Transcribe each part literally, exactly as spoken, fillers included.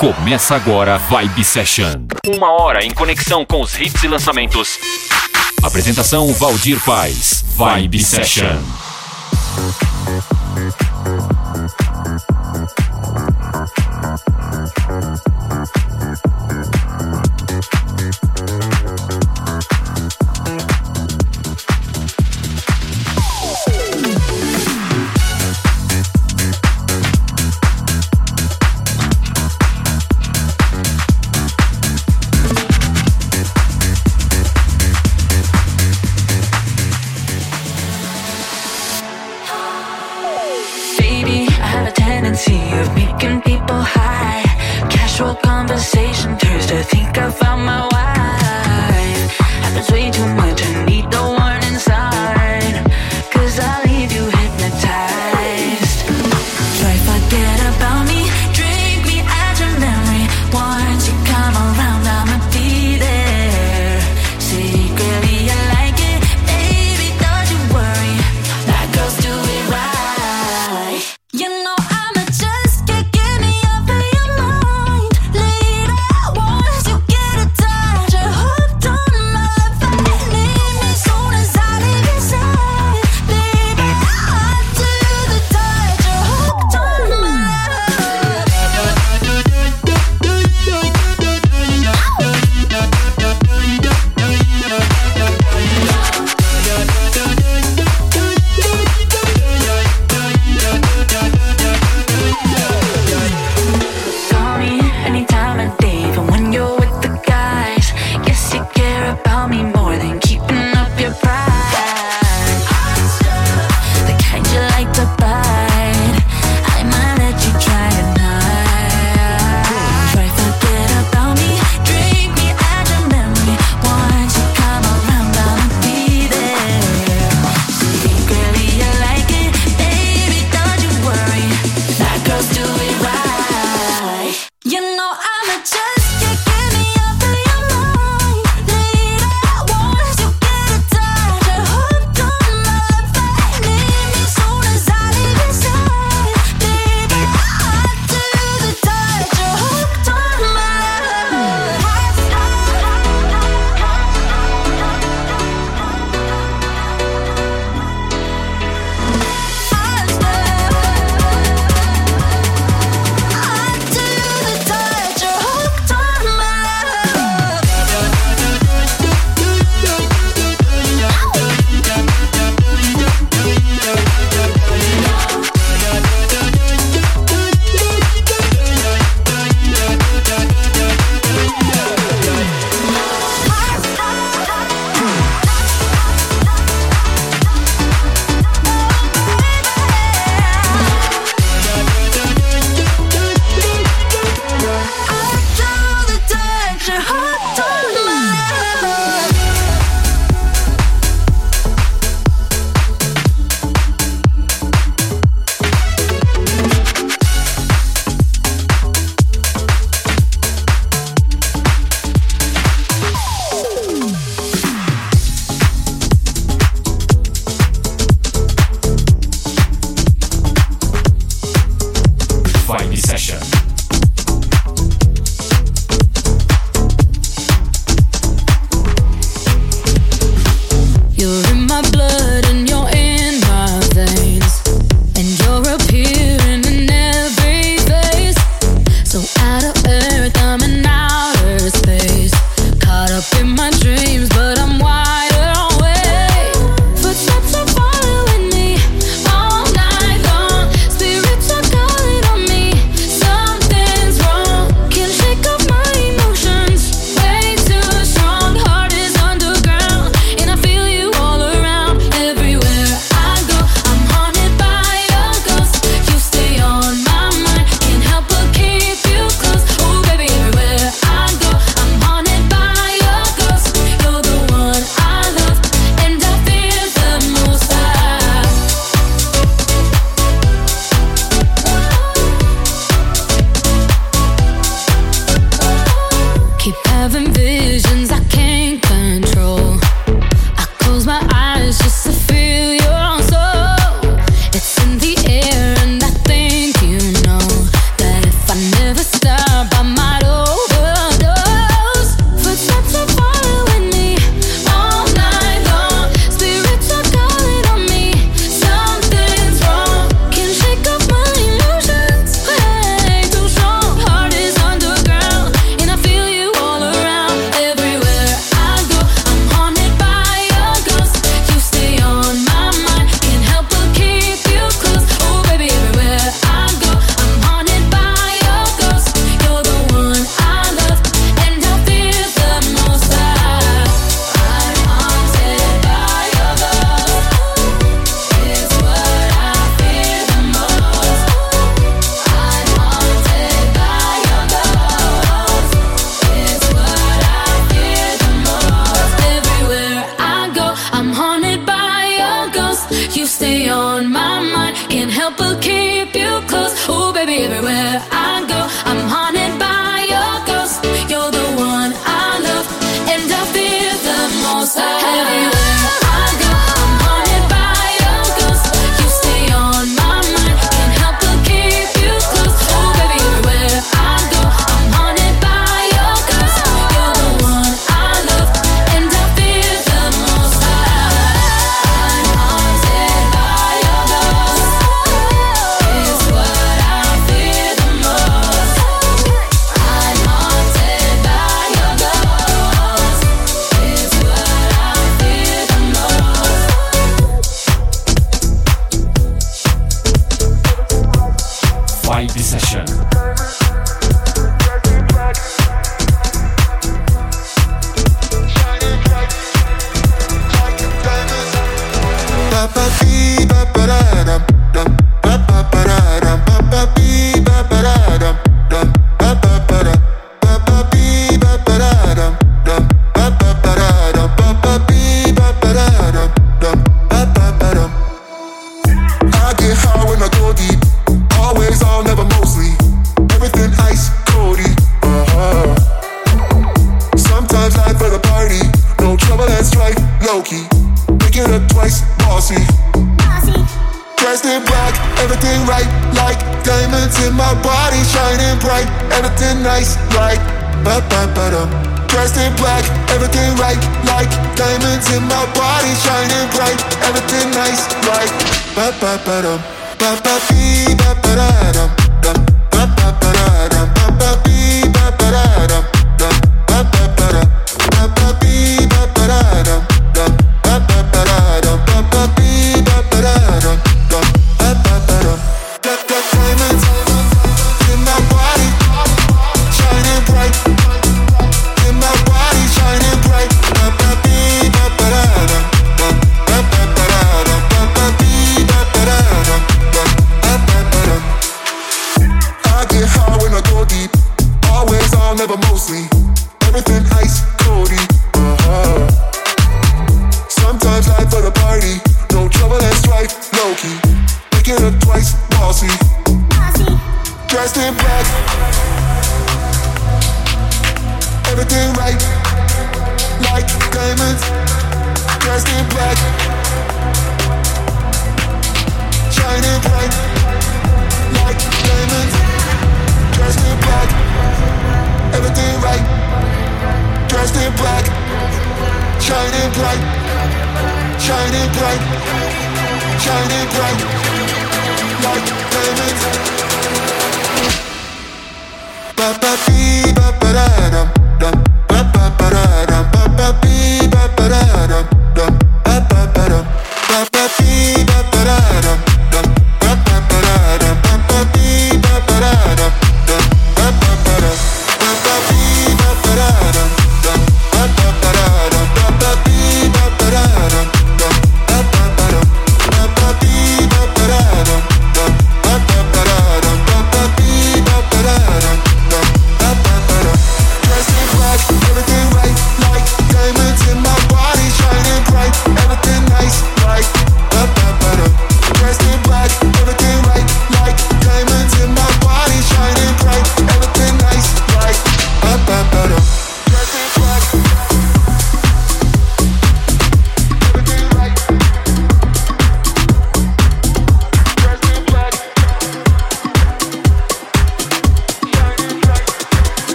Começa agora Vibe Session. Uma hora em conexão com os hits e lançamentos. Apresentação Valdir Paz. Vibe Session. Some everywhere I go. I'm haunted by your ghost. You're the one I love, and I fear the most. Everywhere I go, I'm haunted by your ghost. You stay on my mind, can't help but keep you close. Oh baby, everywhere I go, I'm haunted by your ghost. You're the one I love, and I fear the most. I'm haunted by your ghost. Is what I fear the most. I'm haunted by your ghost. Is what I fear the most. Vibe Session. I get high when I go deep. Always, all, never, mostly. Everything ice, Cody. Uh-huh. Sometimes life for the party. No trouble and strife, low-key. Pick it up twice, bossy. Dressed in black, everything right. Like diamonds in my body, shining bright. Everything nice, like ba-ba-ba-dum. Dressed in black, everything right. Like diamonds in my body, shining bright. Everything nice, like ba-ba-ba-dum. Ba-ba-bee, ba-ba-da-dum, dum, ba-ba-ba-da-dum, ba-ba-bee, ba-ba-da-dum, dum, ba-ba-ba-da, ba-ba-bee, ba-ba-da-dum, dum, ba-ba-ba-da-dum, ba-ba-bee, ba-ba-da-dum, dum, ba-ba-ba-dum. Got got diamonds in my body, shining bright. In my body, shining bright. Ba-ba-bee, ba-ba-da-dum, dum, ba-ba-ba-da-dum, ba-ba-bee, ba-ba-da-dum. I get high when I go deep. Always, all, never, mostly. Everything ice, Cody. Uh-huh. Sometimes life for the party. No trouble and strife, low-key. Pick it up twice, bossy. Dressed in black. Everything right. Like diamonds. Dressed in black. Shining bright. Like diamonds, dressed in black. Everything right. Dressed in black. Shining bright. Shining bright. Shining bright. Like diamonds. Ba-ba-bee, ba-ba-da-dum, dum, ba-ba-ba-da-dum, ba-ba-bee, ba-ba-da-dum, dum, ba-ba-ba-dum, ba-ba-bee, ba-ba-da-dum, dum, ba-ba-ba-da-dum, ba-ba-bee, ba-ba-da-dum, dum, ba-ba-ba-dum, ba-ba-bee, ba-ba-da-dum, dum, ba-ba-ba-da-dum, ba-ba-bee, ba-ba-da-dum, dum, ba-ba-ba-dum, ba-ba-bee, ba-ba-da-dum, dum, ba-ba-ba-da-dum, ba-ba-bee, ba-ba-da-dum, dum, ba-ba-ba-dum.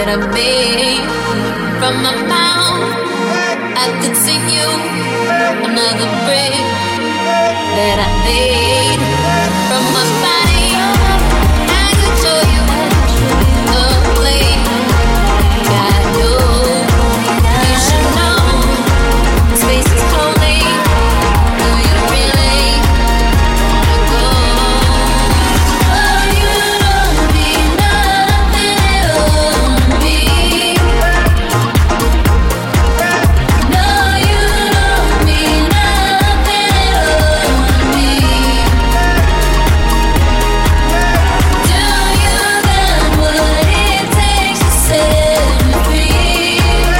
that I made from my mouth. I could sing you another break that I made from my body. I could show you the way I do. You should know space is clothing. Do you really wanna go? Oh, you don't mean nothing to me. No, you don't mean nothing to me. Do you got what it takes to set me free?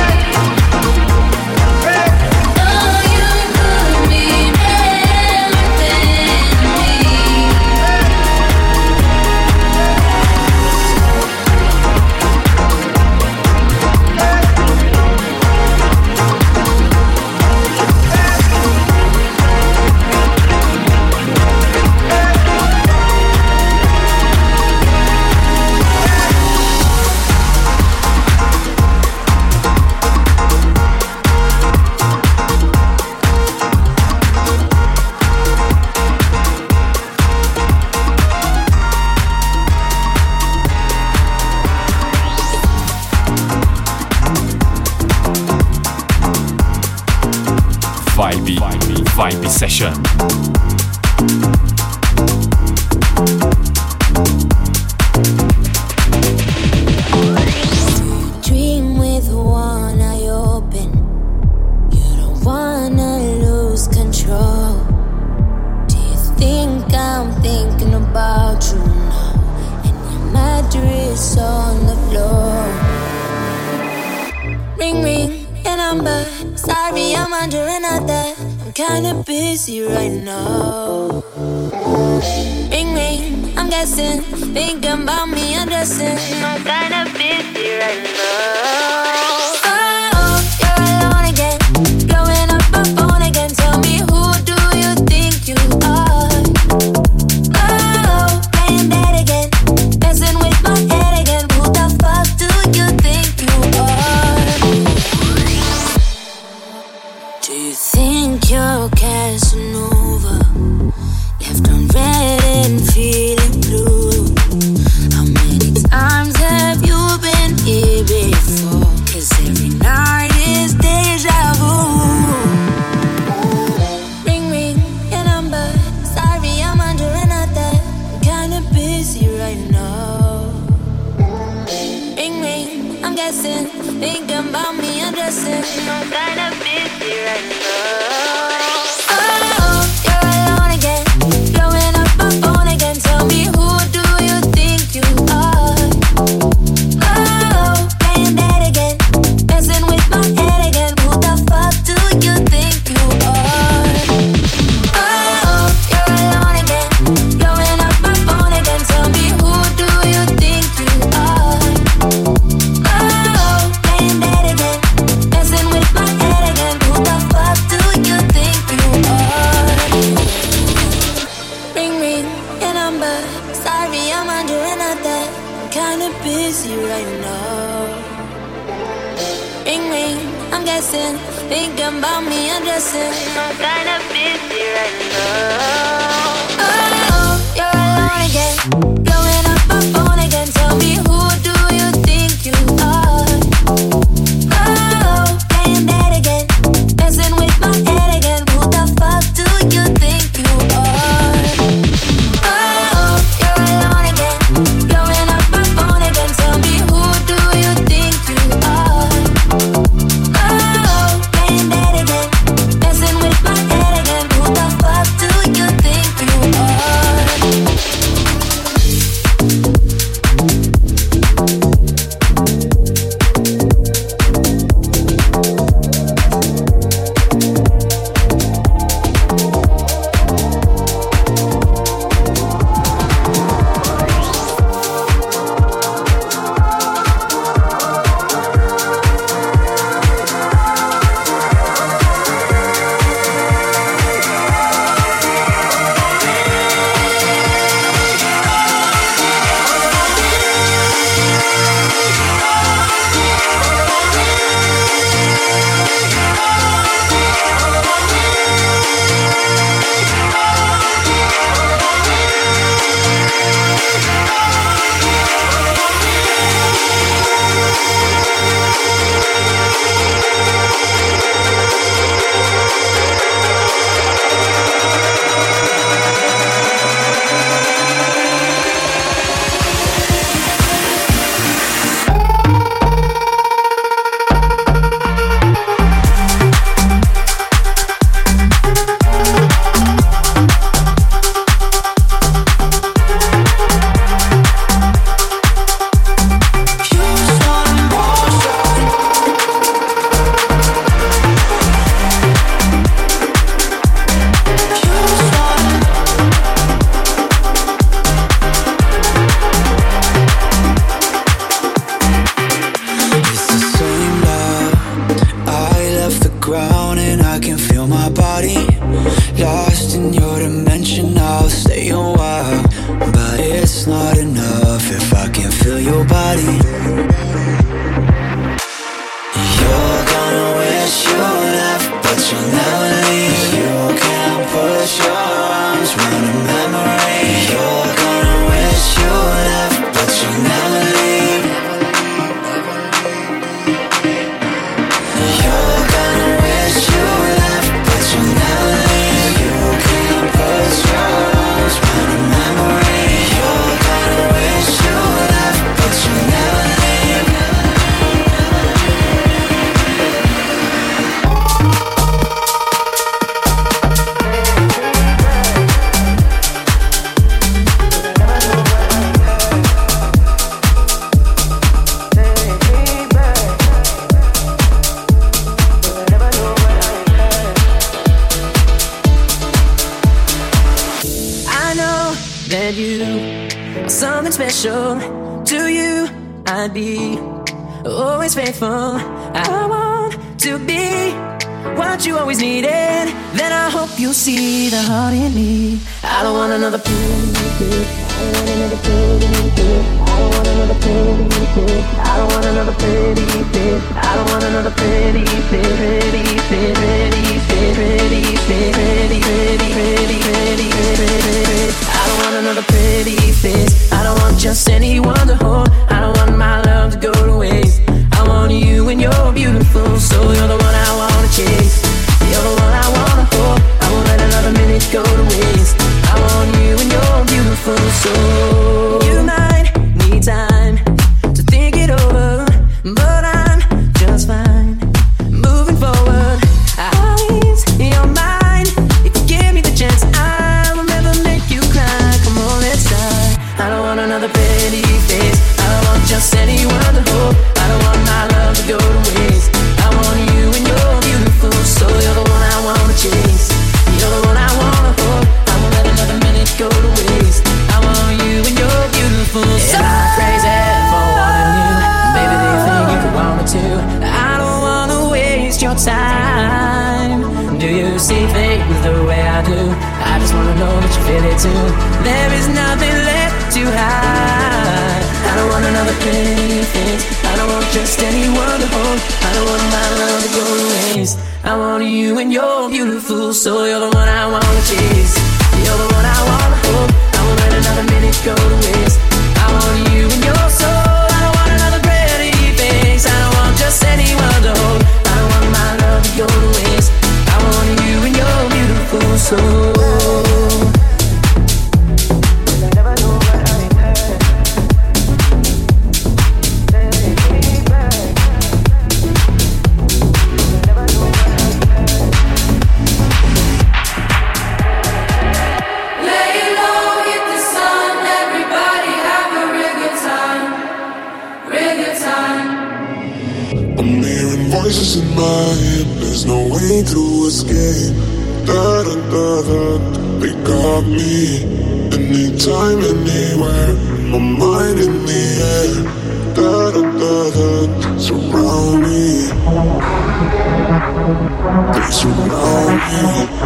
Oh, you could mean everything to me. Vibe, Vibe, Vibe Session. Dream with one eye open. You don't wanna lose control. Do you think I'm thinking about you now? And your mattress on the floor. Ring ring your number. Sorry, I'm under another. I'm kinda busy right now. Ring ring, I'm guessing. Thinking about me undressing. I'm kinda busy right now. Oh, you're alone again. Blowing up my phone again. Tell me, who do you think you are? Oh, playing dead again. Messing with my head again. Who the fuck do you think you are? Do you think you're Casanova? Left on red and feeling blue. How many times have you been here before? 'Cause every night is deja vu. Ring ring your number. Sorry, I'm under another. I'm kinda busy right now. Ring ring, I'm guessing. Thinking about me undressing. I'm kinda busy right now. Oh, you're alone again. Blowing up my phone again. Tell me, who do you think you are? Oh, playing dead again. Messing with my head again. Who the fuck do you think you are? Oh, you're alone again. Blowing up my phone again. Tell me, who do you think you are? Oh, playing dead again. Messing with my head again. Who the fuck do you think you are? Ring ring your number. Sorry, I'm under another. I'm kinda busy right now. Ring ring, I'm guessing. Thinking about me undressing. I'm kinda busy right now. Oh, you're alone again. Blowing up my phone again. Tell me, who do you think you are? Oh, playing dead again. Messing with my head again. Who the fuck do you think you are? Oh, you're alone again. Blowing up my phone again. Tell me, who do you think you are? Oh, playing dead again. Messing with my head again. Who the fuck do you think you your body. You're gonna wish you left, but you'll never leave. You can push your arms round a memory. You're gonna wish you left, but you'll never leave. You're gonna wish you left, but you'll never leave. You can push your arms round a memory. You're gonna wish you left, but you'll never leave. That you are something special. To you I'd be always faithful. I want to be what you always needed. Then I hope you'll see the heart in me. I don't want another pretty, I don't want another pretty, I don't want another pretty, I don't want another pretty, I don't want another pretty, pretty, pretty, pretty, pretty, pretty, pretty, pretty, pretty, pretty. I don't want another pretty face. I don't want just anyone to hold. I don't want my love to go to waste. I want you and you're beautiful, so you're the one I wanna chase. You're the one I wanna hold. I won't let another minute go to waste. I want you and you're beautiful, so you might need time to think it over, but I'm just fine moving forward. Always in your mind. If you give me the chance, I will never make you cry. Come on, let's try. I don't want another pretty face. I don't want just anyone to hold. I don't want my love to go to waste. I want you and you're beautiful, so you're the one I wanna chase. You're the one I wanna hold. I won't let another minute go to waste. I want you and you're beautiful, so am I crazy for wanting you? Maybe they think you could want me too. I don't wanna waste your time. Do you see things the way I do? I just wanna know that you feel it too. There is nothing left to hide. I don't want another pretty face. I don't want just anyone to hold. I don't want my love to go to waste. I want you and you're beautiful, so you're the one I wanna chase. You're the one I wanna hold. I won't let another minute go to waste. I want you and your soul. I don't want another pretty face. I don't want just anyone to hold. I don't want my love to go to waste. I want you and your beautiful soul. Voices in my head, there's no way to escape. Da da da da, they got me. Anytime, anywhere, my mind in the air. Da da da da, surround me. They surround me.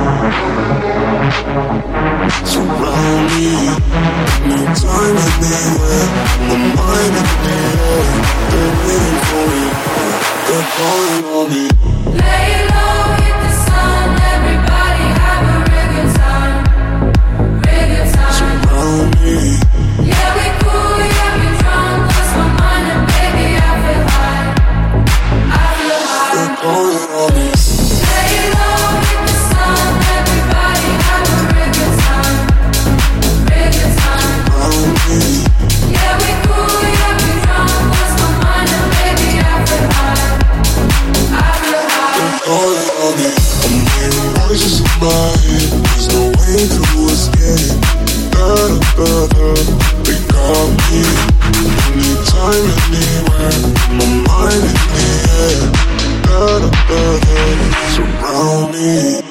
Surround me. Anytime, anywhere, my mind in the air. They're waiting for me. They're calling on me. Lay low, hit the sun. Everybody have a real good time. Real good time. Surround me. Yeah, we cool, yeah, we drunk. Lost my mind and baby, I feel high. I feel high. They're calling on me. Lay low, hit the sun. Everybody have a real good time. Real good time. Surround me. Yeah, we cool, yeah, we drunk. Lost my mind and baby, I feel high. I feel high. They're calling on me. I'm hearing voices in my head. There's no way to escape. Da da da da, they got me. Anytime, anywhere, my mind in the air. Da da da da, surround me.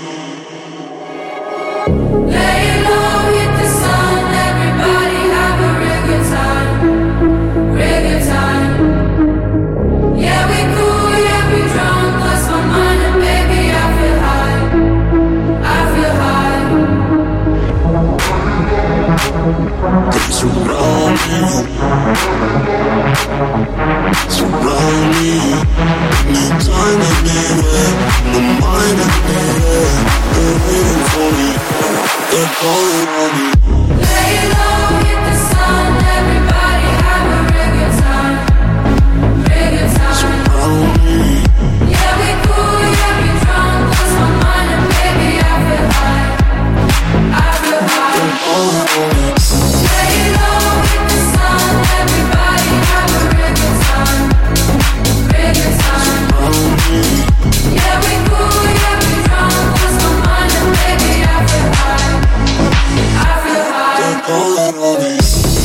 Lay low, hit the sun. Everybody have a real good time. Real good time. Yeah, we cool, yeah, we drunk. Lost my mind and baby, I feel high. I feel high. They surround me. Surround me, anytime, anywhere. My mind and anywhere. They're waiting for me. They're calling on me. Lay low, hit the sun. Everybody have a real good time. Real good time. Surround me. Yeah, we cool, yeah, we drunk. Lost my mind and baby, I feel high. I feel high. They're calling on me. Lay low, hit the sun. Everybody have a real good time. Real good time. Surround me. Yeah, we cool, yeah, we drunk. Lost my mind and baby, I feel high. I feel high. They're calling on me.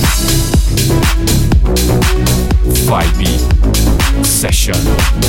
Vibe Session.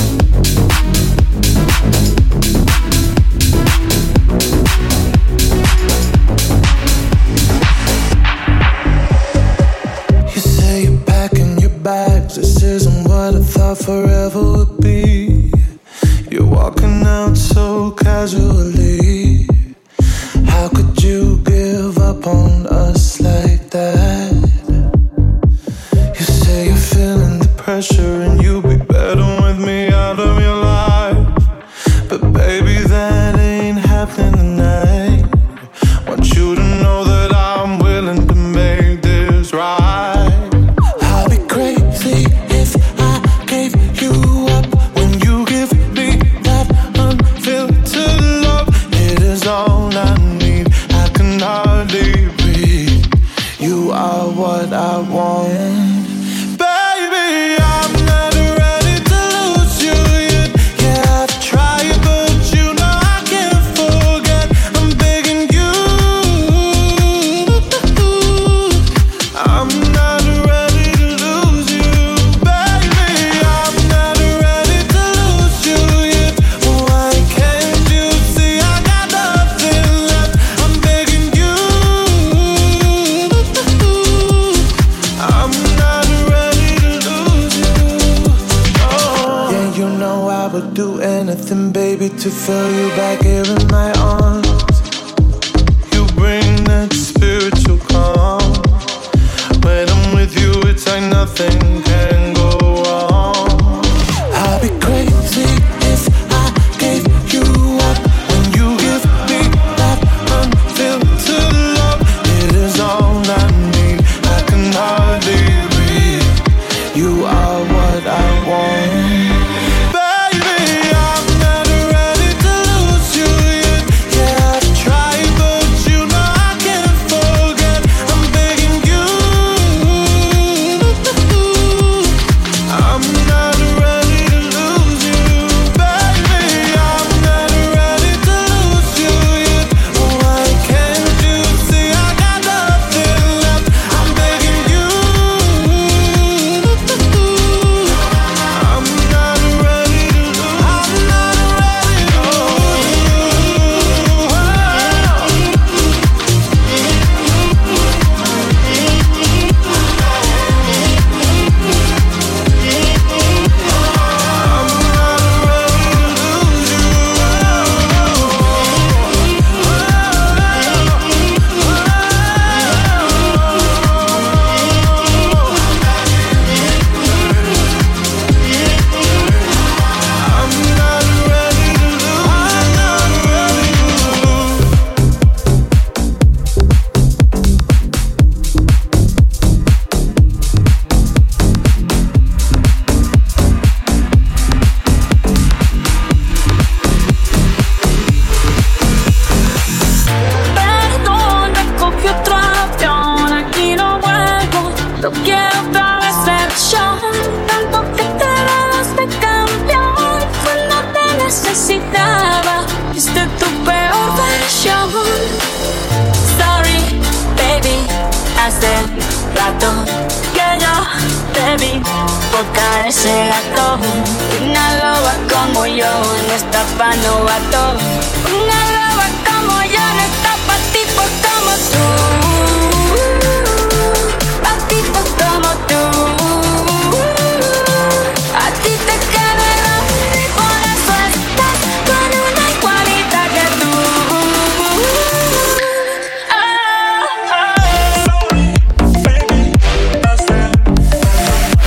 You say you're packing your bags. This isn't what I thought forever would be. You're walking out so casually. How could you give up on us like that? You say you're feeling the pressure and you'll be better with me out of your life. But baby, that ain't happening tonight. Want you to know that I'm willing to make this right. I'll be crazy if I gave you up when you give me that unfiltered love. It is all I need. I can hardly breathe. You are what I want. Baby, I'm not ready to lose you yet. Yeah, I've tried, but you know I can't forget. I'm begging you. I'm not ready to lose you, baby. I'm not ready to lose you yet. Why can't you see I got nothing left? I'm begging you. I'm not ready to lose you. Oh. Yeah, you know I would do anything, baby, to feel you back here in my arms. You bring that spiritual calm. When I'm with you, it's like nothing can go wrong. I'll be crazy if I gave you up when you give me that unfiltered love. It is all I need. I can hardly breathe. You are what I want. Baby, I'm not ready to lose you yet. Yeah, I've tried, but you know I can't forget. I'm begging you. I'm not ready to lose you, baby. I'm not ready to lose you yet. Why can't you see I got nothing left? I'm begging you. I'm not ready to lose. I'm not ready to Perdona, cogí otro avión, aquí no vuelvo. No quiero otra vez ser yo. Tanto que te dabas de campeón cuando te necesitaba. Viste tu peor versión. Sorry, baby, hace rato que yo te vi boca ese gato. Una loba como yo no está pa' novato. Una loba como yo no está pa' tipos como tú. Pa' tipos como tú. A ti te queda el amor y por eso estás con una igualita que tú. Ah, ah.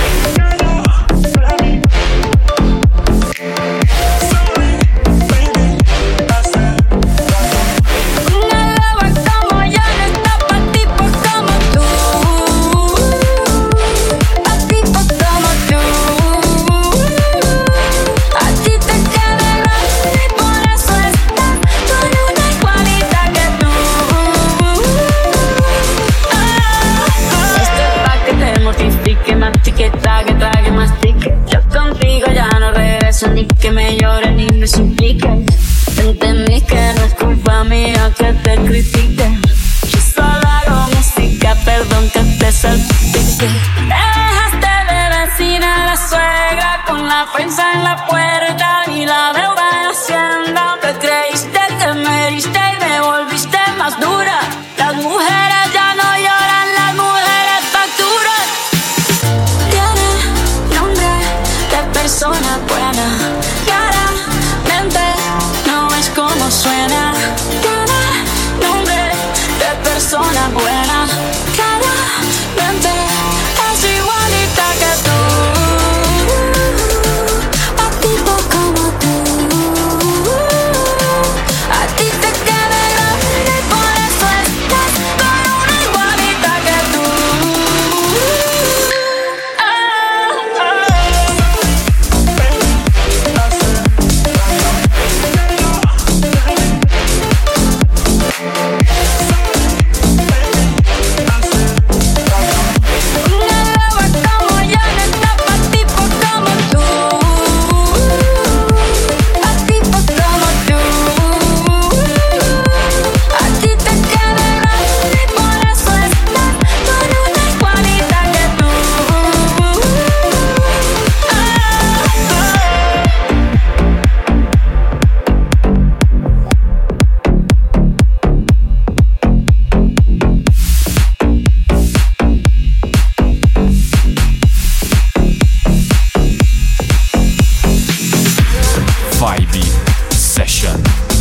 critique. Yo solo hago música, perdón que te salpique. Me dejaste de vecina la suegra, con la prensa en la puerta y la deuda en Hacienda. Te creíste que me heriste y me volviste más dura. Las mujeres ya no lloran, las mujeres facturan. Tiene nombre de persona buena, claramente no es como suena. Tiene nombre de persona buena, claramente es igualita que tú. A tipo como tú, a ti te queda grande y por eso estás con una igualita que tú. Ah, ah. Una loba como yo no está pa' tipos como tú, pa' tipos como tú. A ti te queda grande y por eso estás con una igualita que tú. Vibe Session.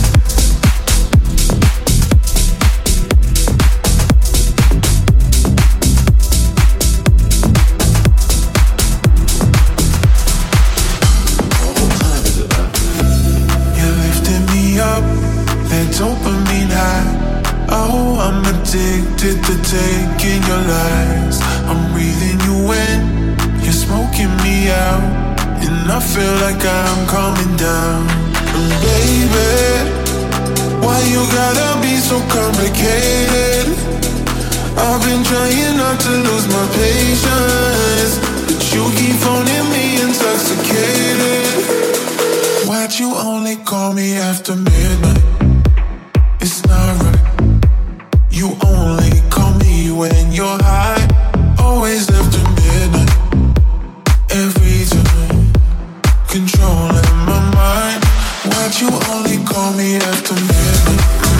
You lifted me up, that dopamine high. Oh, I'm addicted to taking your lies. I'm breathing you in, you're smoking me out, and I feel like I'm coming down. And baby, why you gotta be so complicated? I've been trying not to lose my patience, but you keep phoning me intoxicated. Why'd you only call me after midnight? It's not right. You only call me when you're high. Always after midnight. Every time, controlling my mind. Why'd you only call me after midnight?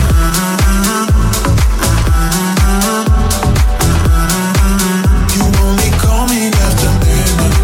You only call me after midnight.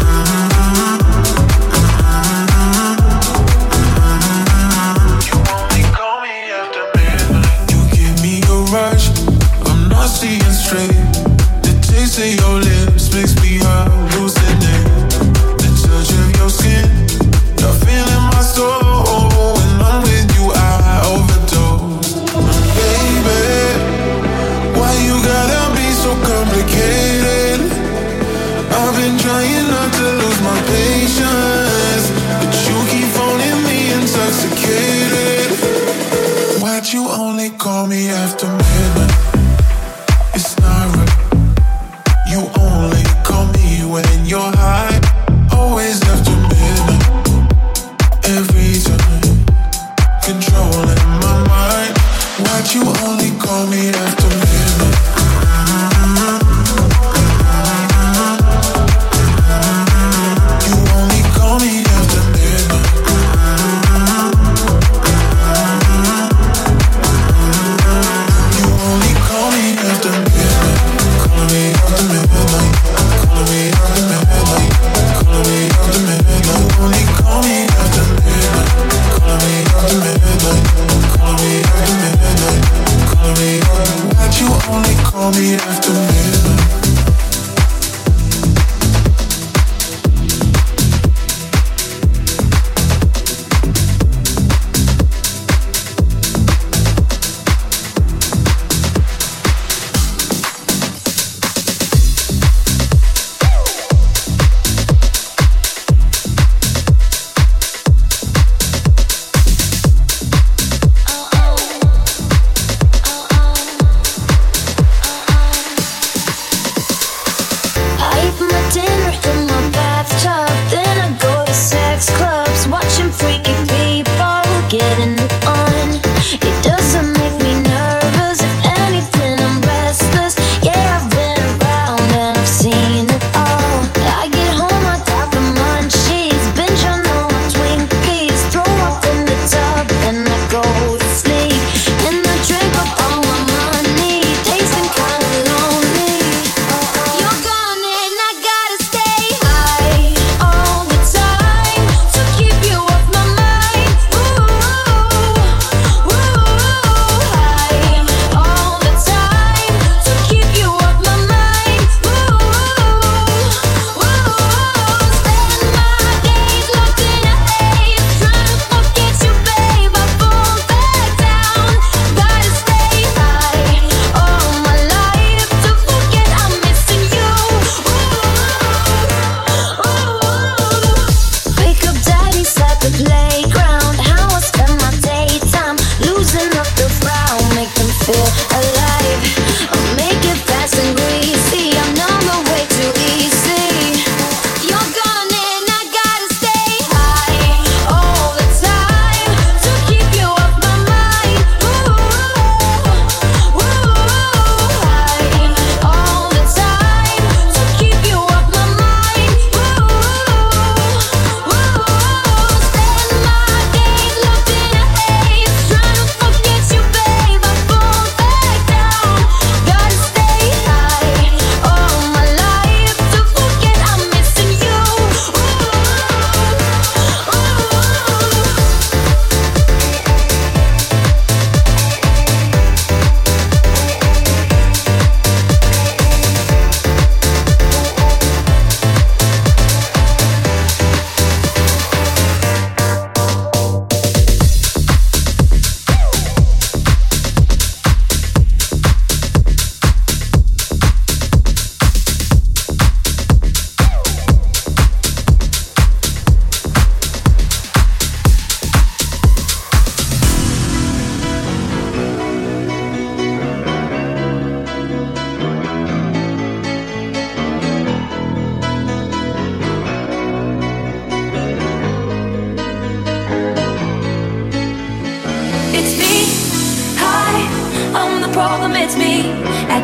You only call me after midnight. You give me a rush, I'm not seeing straight. The taste of your lips makes me hallucinate. The touch of your skin, you're feeling my soul. When I'm with you, I overdose. Baby, why you gotta be so complicated? I've been trying not to lose my patience, but you keep phoning me intoxicated. Why'd you only call me after midnight? It's not right. You only call me when you're high. Always after midnight. Every time, controlling my mind. Why'd you only call me after midnight? You only call me after midnight. You only call me after midnight.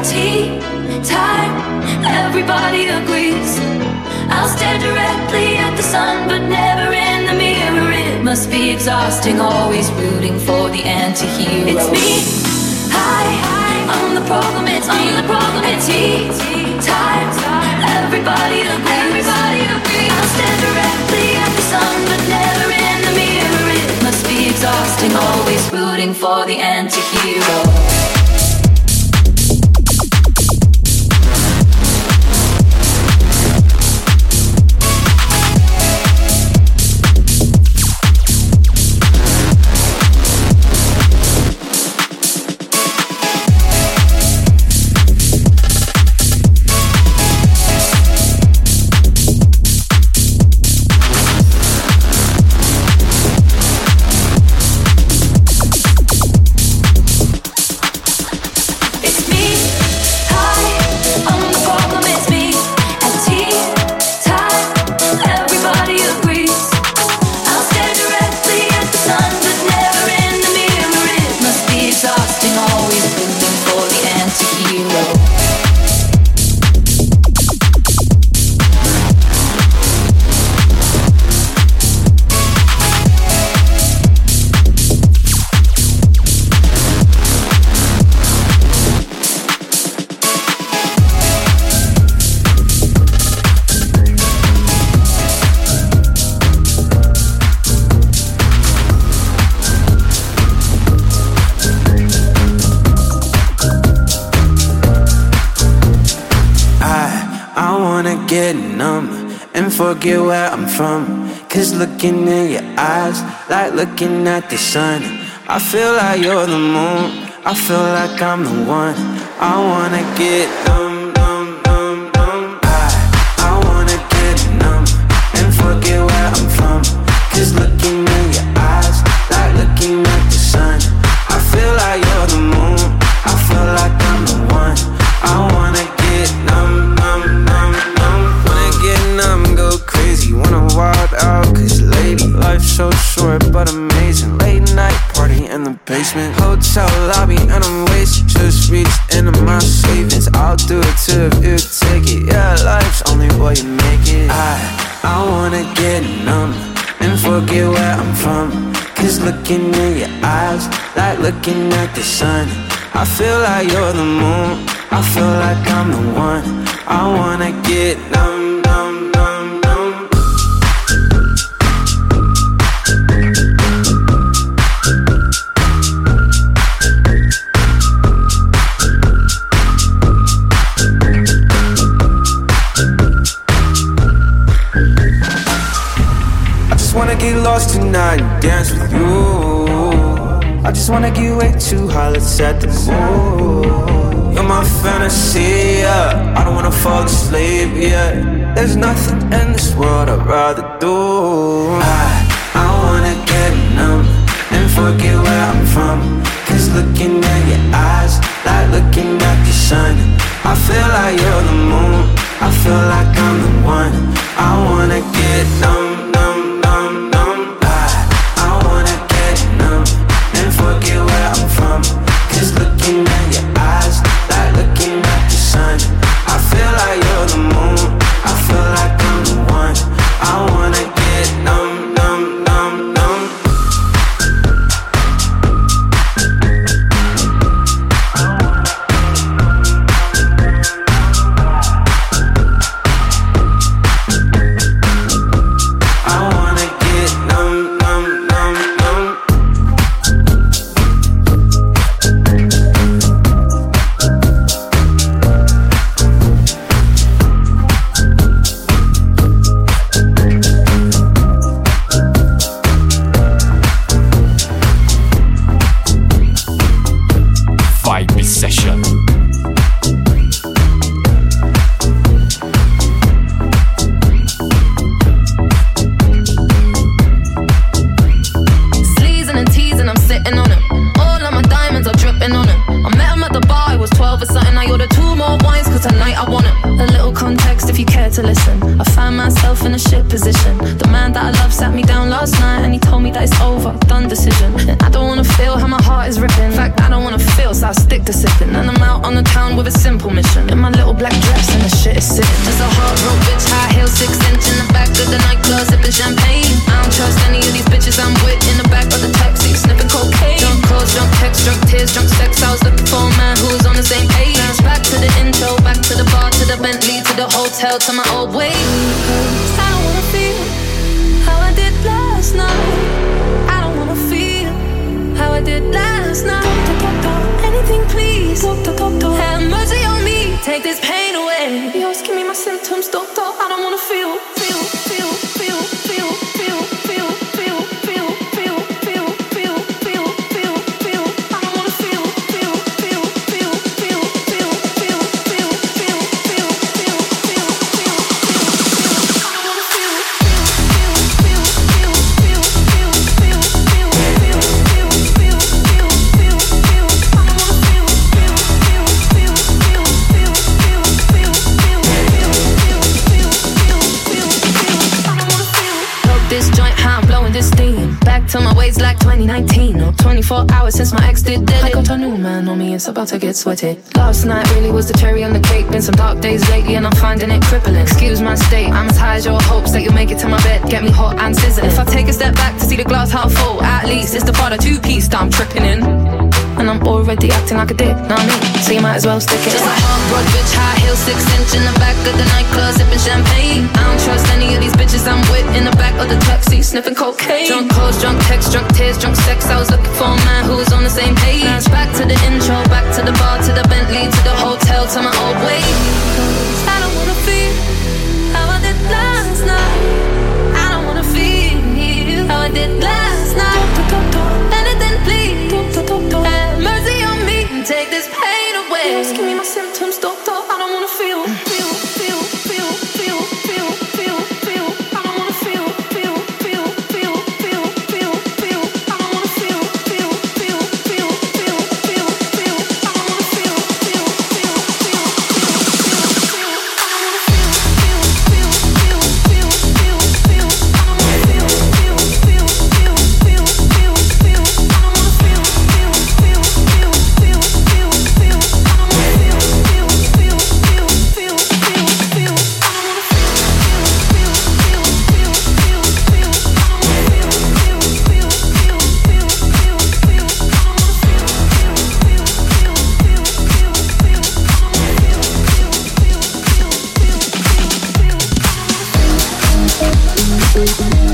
at tea time, everybody agrees. I'll stare directly at the sun, but never in the mirror. It must be exhausting, always rooting for the anti-hero. It's me, hi, I'm the problem, it's me, the problem, it's tea time, everybody agrees. Everybody agrees. I'll stare directly at the sun, but never in the mirror. It must be exhausting, always rooting for the anti-hero. Forget where I'm from, cause looking in your eyes, like looking at the sun. I feel like you're the moon, I feel like I'm the one. I wanna get numb, numb, numb, numb. I, I wanna get numb, and forget where I'm from, cause looking in your eyes, like looking at the sun. I feel like you're the moon, I feel like I'm the one. I wanna get numb, numb, numb, numb. Wanna get numb, go crazy, wanna wild out, cause lady, life's so short but amazing. Late night party in the basement, hotel lobby, and I'm wasted. Just reached into my savings, I'll do it too if you take it. Yeah, life's only what you make it. I, I wanna get numb, and forget where I'm from, cause looking in your eyes, like looking at the sun. I feel like you're the moon, I feel like I'm the one. I wanna get numb, numb, numb, numb. I just wanna get lost tonight and dance with you. I just wanna get way too high, let's set the mood. You're my fantasy, yeah. I don't wanna fall asleep, yeah. There's nothing in this world I'd rather do. I, I wanna get numb, and forget where I'm from, cause looking at your eyes, like looking at the sun. I feel like you're the moon, I feel like I'm the one. I wanna get numb, numb, numb, numb. I, I wanna get numb, and forget where I'm from, cause looking at your eyes, like looking at the sun. I feel like you're the moon, I feel like I'm the one. I wanna get numb, numb, numb, numb. myself in a shit position. The man that I love sat me down last night and he told me that it's over, done decision. And I don't wanna feel how my heart is ripping. In fact, I don't wanna feel, so I stick to sipping. And I'm out on the town with a simple mission. In my little black dress and the shit is sitting. There's a hard rope bitch, high heels, six inch in the back of the nightclub, sipping champagne. I don't trust any of these bitches I'm with in the back of the taxi, sniffing cocaine. Drunk calls, drunk texts, drunk tears, drunk sex. I was looking for a man who's on the same page. Now it's back to the intro, back to the bar, to the Bentley, to the hotel, to my old way. Cause I don't wanna feel how I did last night. I don't wanna feel how I did last night. Anything please, have mercy on me, take this pain away. You always give me my symptoms, doctor. I don't wanna feel, feel, feel, feel, feel, feel, feel, feel, feel, feel, feel, feel, feel, feel, feel. I don't wanna feel, feel, feel, feel, feel, feel, feel, feel, feel, feel, feel, feel, feel. I don't wanna feel, feel, feel, feel, feel, feel, feel, feel, feel, feel, feel, feel, feel, feel. I don't wanna feel, feel, feel, feel, feel, feel, feel, feel, feel, feel, feel, feel, feel, feel, feel. I don't wanna feel. Smoke this joint, how I'm blowing this steam. Back to my ways like twenty nineteen. Or twenty-four hours since my ex did dead. I got a new man on me, it's about to get sweaty. Last night really was the cherry on the cake. Been some dark days lately and I'm finding it crippling. Excuse my state, I'm as high as your hopes that you'll make it to my bed. Get me hot and sizzling. If I take a step back to see the glass half full, at least it's the part of two-piece that I'm tripping in. And I'm already acting like a dick, know what I mean? So you might as well stick it. Just like hot rod bitch, high heels, six inch in the back of the nightclub, sipping champagne. I don't trust any of these bitches I'm with in the back of the taxi, sniffing cocaine. Drunk calls, drunk texts, drunk tears, drunk sex. I was looking for a man who was on the same page. Now it's back to the intro, back to the bar, to the Bentley, to the hotel, to my old way. Cause I don't wanna feel how I did last night. I don't wanna feel how I did last night. Anything please, have mercy on me and take this pain away. Just give me my symptoms, doctor. I don't wanna feel, feel, feel, feel, feel, feel, feel, feel. I don't wanna feel, feel, feel, feel, feel, feel, feel. I don't wanna feel, feel, feel, feel, feel, feel, feel. I don't wanna feel, feel, feel, feel, feel, feel, feel. I don't wanna feel, feel, feel, feel, feel, feel, feel. I don't wanna feel, feel, feel, feel, feel, feel, feel. I don't wanna feel, feel, feel, feel, feel, feel, feel. I don't wanna feel, feel, feel, feel, feel, feel, feel. I don't wanna feel, feel, feel, feel, feel, feel. I don't wanna feel, feel, feel, feel, feel, feel, feel. I don't wanna feel, feel, feel, feel, feel, feel, feel. I don't wanna feel, feel, feel, feel, feel, feel.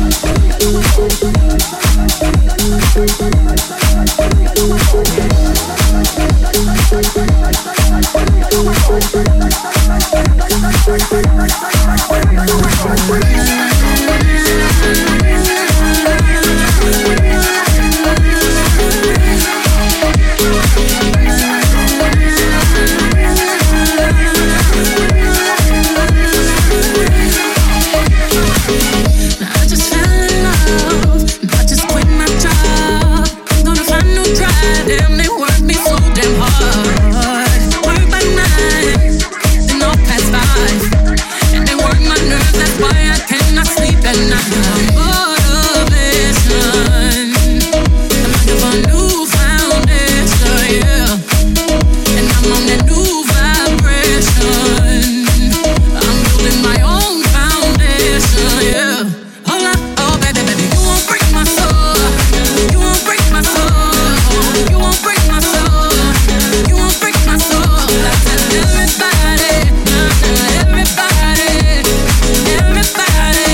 I just fell in love, but just quit my job. Gonna find new drive, damn, they work me so damn hard. Work by nine, then all past five, and they work my nerves, that's why I cannot sleep at night. Motivation, I'm looking for a new foundation, yeah, and I'm on that new vibration. I'm building my own foundation, yeah. Hold up, oh baby, baby, you won't break my soul. You won't break my soul. You won't break my soul. You won't break my soul. I tell everybody, everybody, everybody,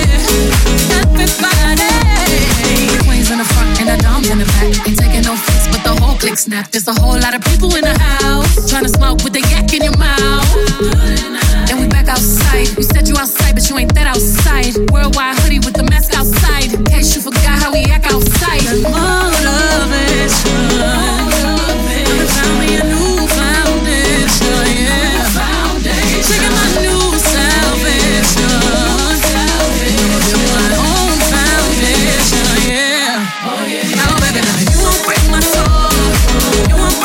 everybody. Queens in the front and the doms in the back. Ain't taking no fix, but the whole click snap. There's a whole lot of people in the house trying to smoke with the yak in your mouth. And we back outside. You said you outside, but you ain't that outside. Worldwide hoodie with the mask outside. In case you forgot how we act outside. Motivation. I found me a new foundation, yeah. Checking my new salvation. Building my own foundation, yeah. Oh baby, you won't break my soul. You won't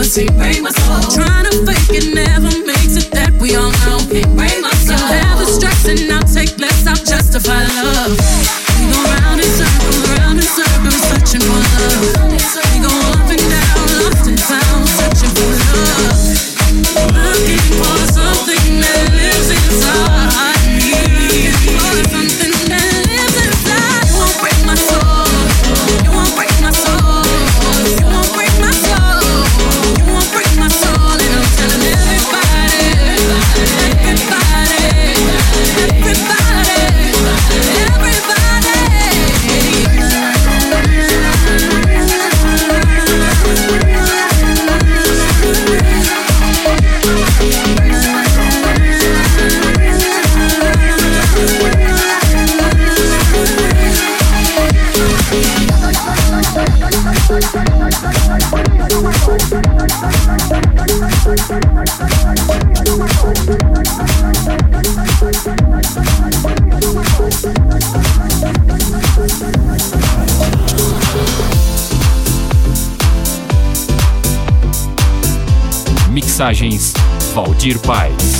cause he break my soul. Trying to fake it never makes it, that we all know. He break my soul. Have the stress and I'll take less, I'll justify love. We go round in circles, round in circles, searching for love. We go up and down, lost and found, searching for love. Looking for something that lives inside me. For something that lives inside. You won't break my soul. You won't break my soul. You won't break my soul. You won't break my soul. And I'm telling everybody, everybody, everybody, Mixagens Valdir Paz.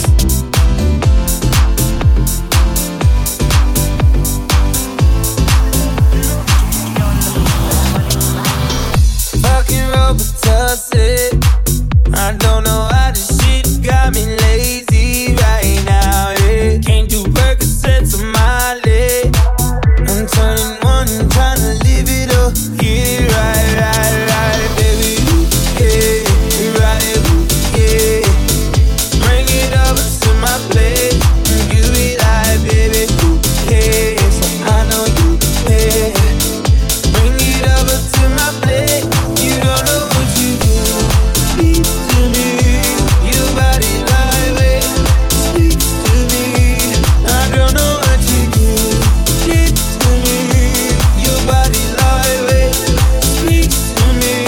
Fucking Robitussin. I don't know how this shit got me lazy right now. Yeah. Can't do Percocets on my leg. I'm turning one and trying to live it up. Yeah, right, right, right, baby. Yeah, right, yeah. Bring it over to my place. You be like, baby, who cares? I know you care. Bring it over to my place. You don't know what you do. Speak to me. Your body like it. Speak to me. I don't know what you do. Speak to me. Your body like it. Speak to me.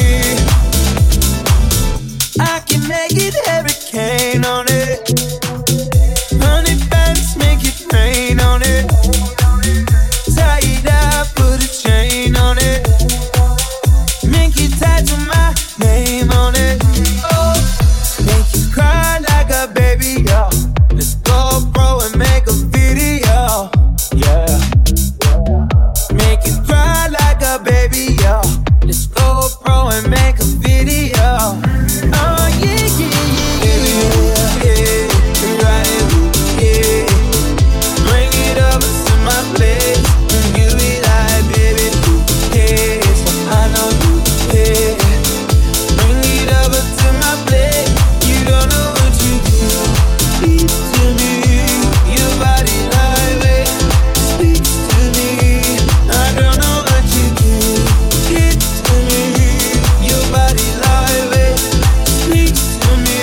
I can make it hurricane on it. Honey bands make it rain on it. Tie it up, put a chain on it. Make you tattoo my name on it. Oh, make you cry like a baby, yo. Let's go, bro, and make a video. Yeah. Make you cry like a baby, yo. Let's go, bro, and make a video. Oh, yeah, yeah, yeah, yeah, yeah, right, yeah. Bring it over to my place. You be like, baby, who cares? I know you care. Bring it over to my place. You don't know what you do. Speak to me. Your body like it. Speak to me. I don't know what you do. Speak to me. Your body like it. Speak to me.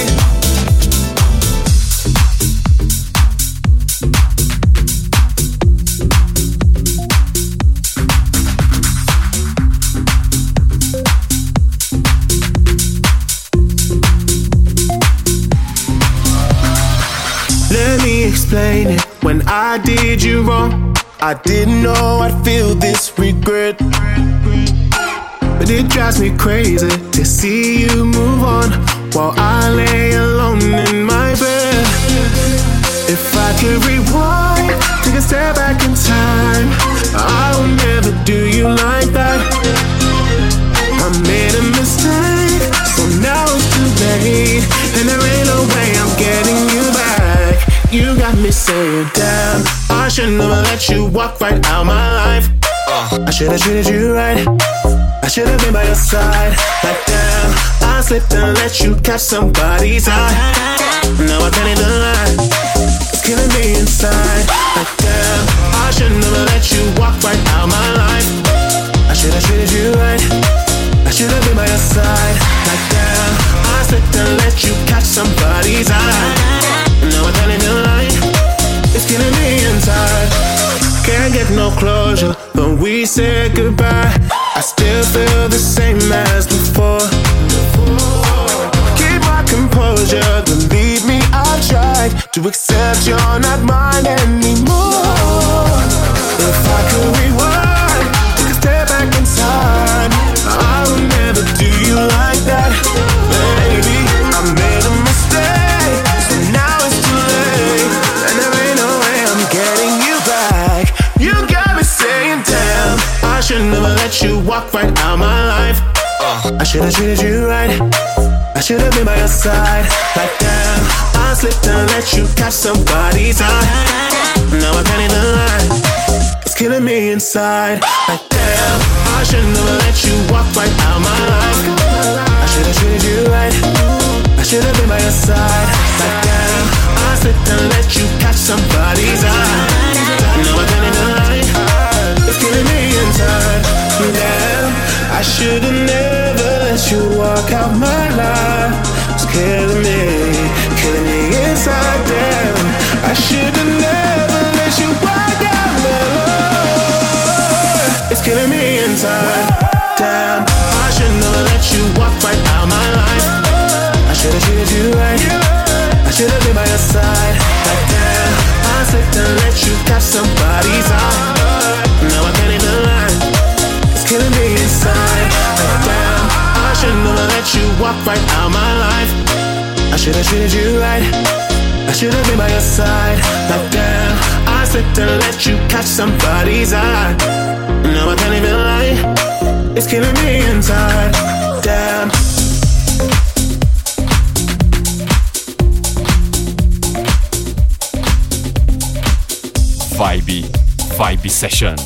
Let me explain it. When I did you wrong, I didn't know I'd feel this regret. But it drives me crazy to see you move on while I lay alone in my bed. If I could rewind, take a step back in time, I would never do you like that. I made a mistake, so now it's too late, and there ain't no way I'm getting you back. You got me saying, damn, I should never let you walk right out my life. I should've treated you right, I should've been by your side. Like damn, I slipped and let you catch somebody's eye. Now I'm telling the lie, it's killing me inside. Like damn, I should never let you walk right out my life. I should've treated you right, I should've been by your side. Like damn, I slipped and let you catch somebody's eye. Now I'm telling the lie, it's killing me inside. Can't get no closure when we said goodbye. I still feel the same as before. Keep my composure, believe me, I've tried to accept you're not mine anymore. If I could rewind, take a step back in time, I would never do you like that. I should've treated you right. I should've been by your side. Like damn, I slipped and let you catch somebody's eye. Now I can't even lie, it's killing me inside. Like damn, I shouldn't have let you walk right out my life. I should've treated you right. I should've been by your side. Like damn, I slipped and let you catch somebody's eye. Now I can't even lie, it's killing me inside. Damn, I should've never let you walk out my life. It's killing me, killing me inside. Damn, I should've never let you walk out my life. It's killing me inside. Damn, I should've never let you walk right out my life. I should've treated you right. I should've been by your side. Like damn, I slipped and let you catch somebody's eye. Now I can't even lie, it's killing me inside. Like damn, I should've never let you walk right out my life. I should've treated you right. I should've been by your side. Like damn, I slipped and let you catch somebody's eye. Now I can't even lie, it's killing me inside. Damn. Vibe, Vibe Session.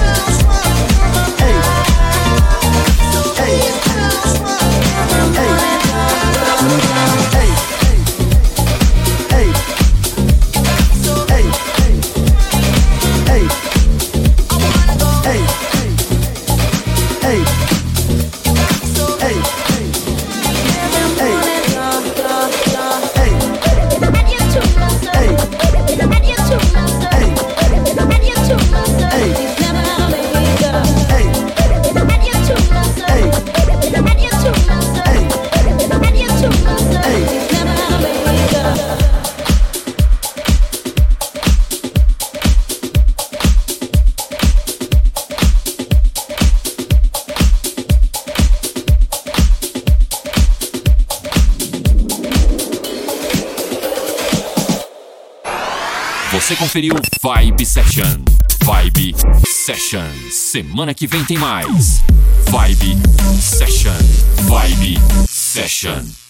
Hey. Você conferiu Vibe Session. Vibe Session. Semana que vem tem mais. Vibe Session. Vibe Session.